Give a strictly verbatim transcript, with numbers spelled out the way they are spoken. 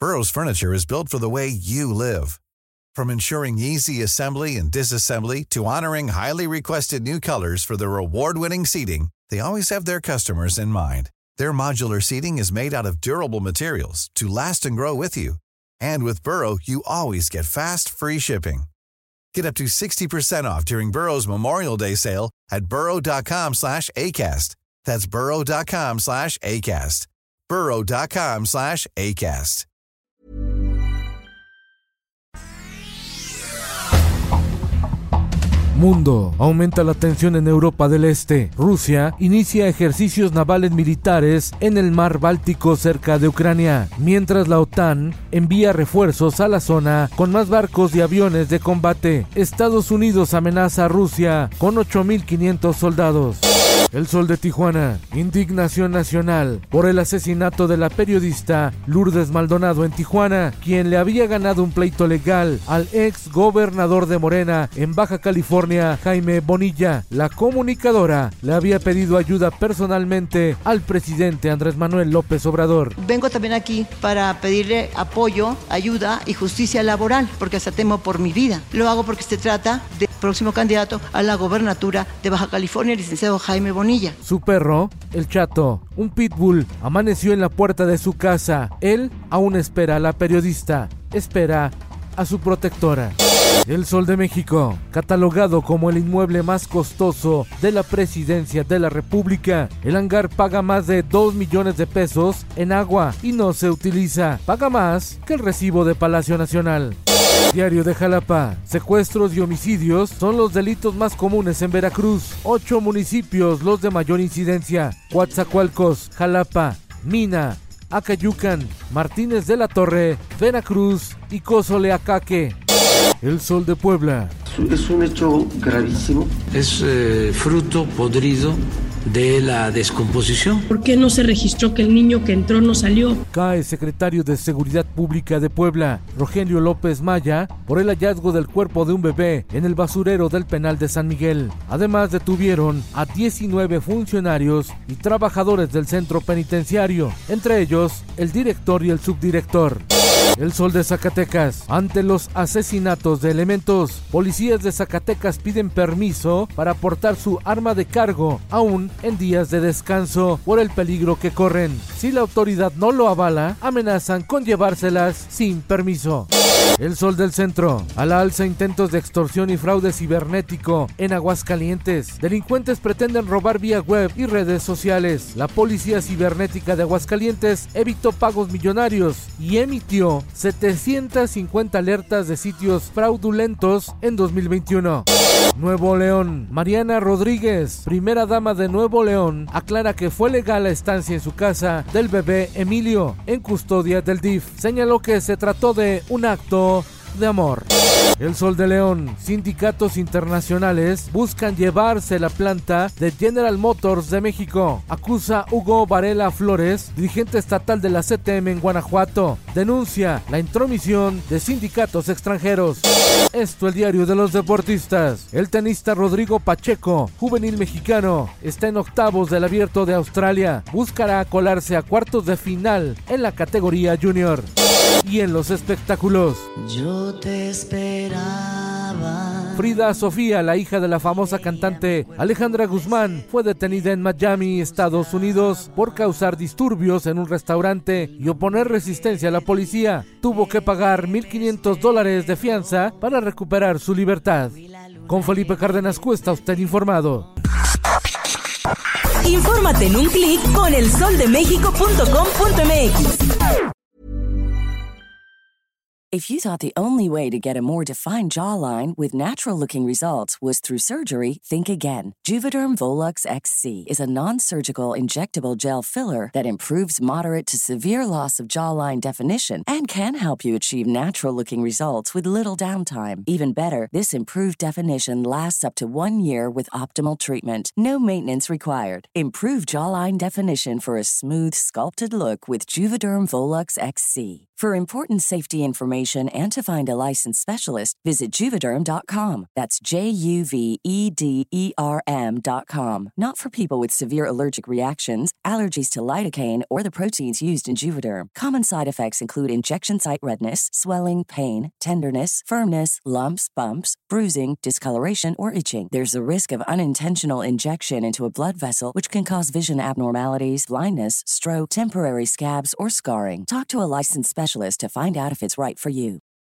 Burrow's furniture is built for the way you live. From ensuring easy assembly and disassembly to honoring highly requested new colors for their award-winning seating, they always have their customers in mind. Their modular seating is made out of durable materials to last and grow with you. And with Burrow, you always get fast, free shipping. Get up to sixty percent off during Burrow's Memorial Day sale at burrow.com slash ACAST. That's burrow.com slash ACAST. burrow.com slash ACAST. Mundo. Aumenta la tensión en Europa del Este. Rusia inicia ejercicios navales militares en el mar Báltico cerca de Ucrania, mientras la OTAN envía refuerzos a la zona con más barcos y aviones de combate. Estados Unidos amenaza a Rusia con ocho mil quinientos soldados. El Sol de Tijuana. Indignación nacional por el asesinato de la periodista Lourdes Maldonado en Tijuana, quien le había ganado un pleito legal al ex gobernador de Morena en Baja California, Jaime Bonilla. La comunicadora le había pedido ayuda personalmente al presidente Andrés Manuel López Obrador. Vengo también aquí para pedirle apoyo, ayuda y justicia laboral, porque hasta temo por mi vida. Lo hago porque se trata del próximo candidato a la gobernatura de Baja California, el licenciado Jaime Bonilla. Su perro, el Chato, un pitbull, amaneció en la puerta de su casa. Él aún espera a la periodista, espera a su protectora. El Sol de México, catalogado como el inmueble más costoso de la presidencia de la República. El hangar paga más de dos millones de pesos en agua y no se utiliza. Paga más que el recibo de Palacio Nacional. Diario de Jalapa. Secuestros y homicidios son los delitos más comunes en Veracruz. Ocho municipios los de mayor incidencia: Coatzacoalcos, Jalapa, Mina, Acayucan, Martínez de la Torre, Veracruz y Cozoleacaque. El Sol de Puebla. Es un hecho gravísimo. Es eh, fruto podrido de la descomposición. ¿Por qué no se registró que el niño que entró no salió? Cae secretario de Seguridad Pública de Puebla, Rogelio López Maya, por el hallazgo del cuerpo de un bebé en el basurero del penal de San Miguel. Además, detuvieron a diecinueve funcionarios y trabajadores del centro penitenciario, entre ellos el director y el subdirector. El Sol de Zacatecas. Ante los asesinatos de elementos, policías de Zacatecas piden permiso para portar su arma de cargo, aún en días de descanso, por el peligro que corren. Si la autoridad no lo avala, amenazan con llevárselas sin permiso. El Sol del Centro. A la alza intentos de extorsión y fraude cibernético en Aguascalientes. Delincuentes pretenden robar vía web y redes sociales. La Policía Cibernética de Aguascalientes evitó pagos millonarios y emitió setecientas cincuenta alertas de sitios fraudulentos en dos mil veintiuno. Nuevo León. Mariana Rodríguez, primera dama de Nuevo León, aclara que fue legal la estancia en su casa del bebé Emilio, en custodia del D I F. Señaló que se trató de un acto de amor. El Sol de León. Sindicatos internacionales buscan llevarse la planta de General Motors de México. Acusa Hugo Varela Flores, dirigente estatal de la C T M en Guanajuato. Denuncia la intromisión de sindicatos extranjeros. Esto, el diario de los deportistas. El tenista Rodrigo Pacheco, juvenil mexicano, está en octavos del Abierto de Australia. Buscará colarse a cuartos de final en la categoría junior. Y en los espectáculos. Yo te esperaba. Frida Sofía, la hija de la famosa cantante Alejandra Guzmán, fue detenida en Miami, Estados Unidos, por causar disturbios en un restaurante y oponer resistencia a la policía. Tuvo que pagar mil quinientos dólares de fianza para recuperar su libertad. Con Felipe Cárdenas Cuesta, usted informado. Infórmate en un clic con el sol de méxico punto com punto m x. If you thought the only way to get a more defined jawline with natural-looking results was through surgery, think again. Juvederm Volux X C is a non-surgical injectable gel filler that improves moderate to severe loss of jawline definition and can help you achieve natural-looking results with little downtime. Even better, this improved definition lasts up to one year with optimal treatment. No maintenance required. Improve jawline definition for a smooth, sculpted look with Juvederm Volux X C. For important safety information and to find a licensed specialist, visit Juvederm dot com. That's J U V E D E R M dot com. Not for people with severe allergic reactions, allergies to lidocaine, or the proteins used in Juvederm. Common side effects include injection site redness, swelling, pain, tenderness, firmness, lumps, bumps, bruising, discoloration, or itching. There's a risk of unintentional injection into a blood vessel, which can cause vision abnormalities, blindness, stroke, temporary scabs, or scarring. Talk to a licensed specialist to find out if it's right for you.